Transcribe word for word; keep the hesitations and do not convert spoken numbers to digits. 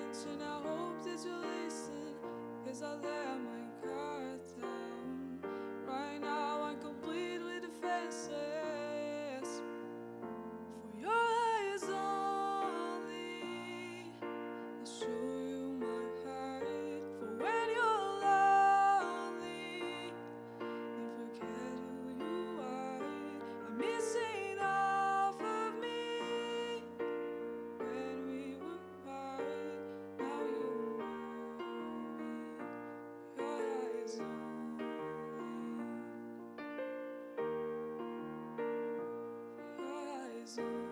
So now I hope that you listen, 'cause I let my guard down. Right now I'm complete with defenses. For your eyes only, I'll show you my heart. For when you're lonely and forget who you are, I'm missing half of me. When we were apart, now you know me. Your eyes only, your eyes only.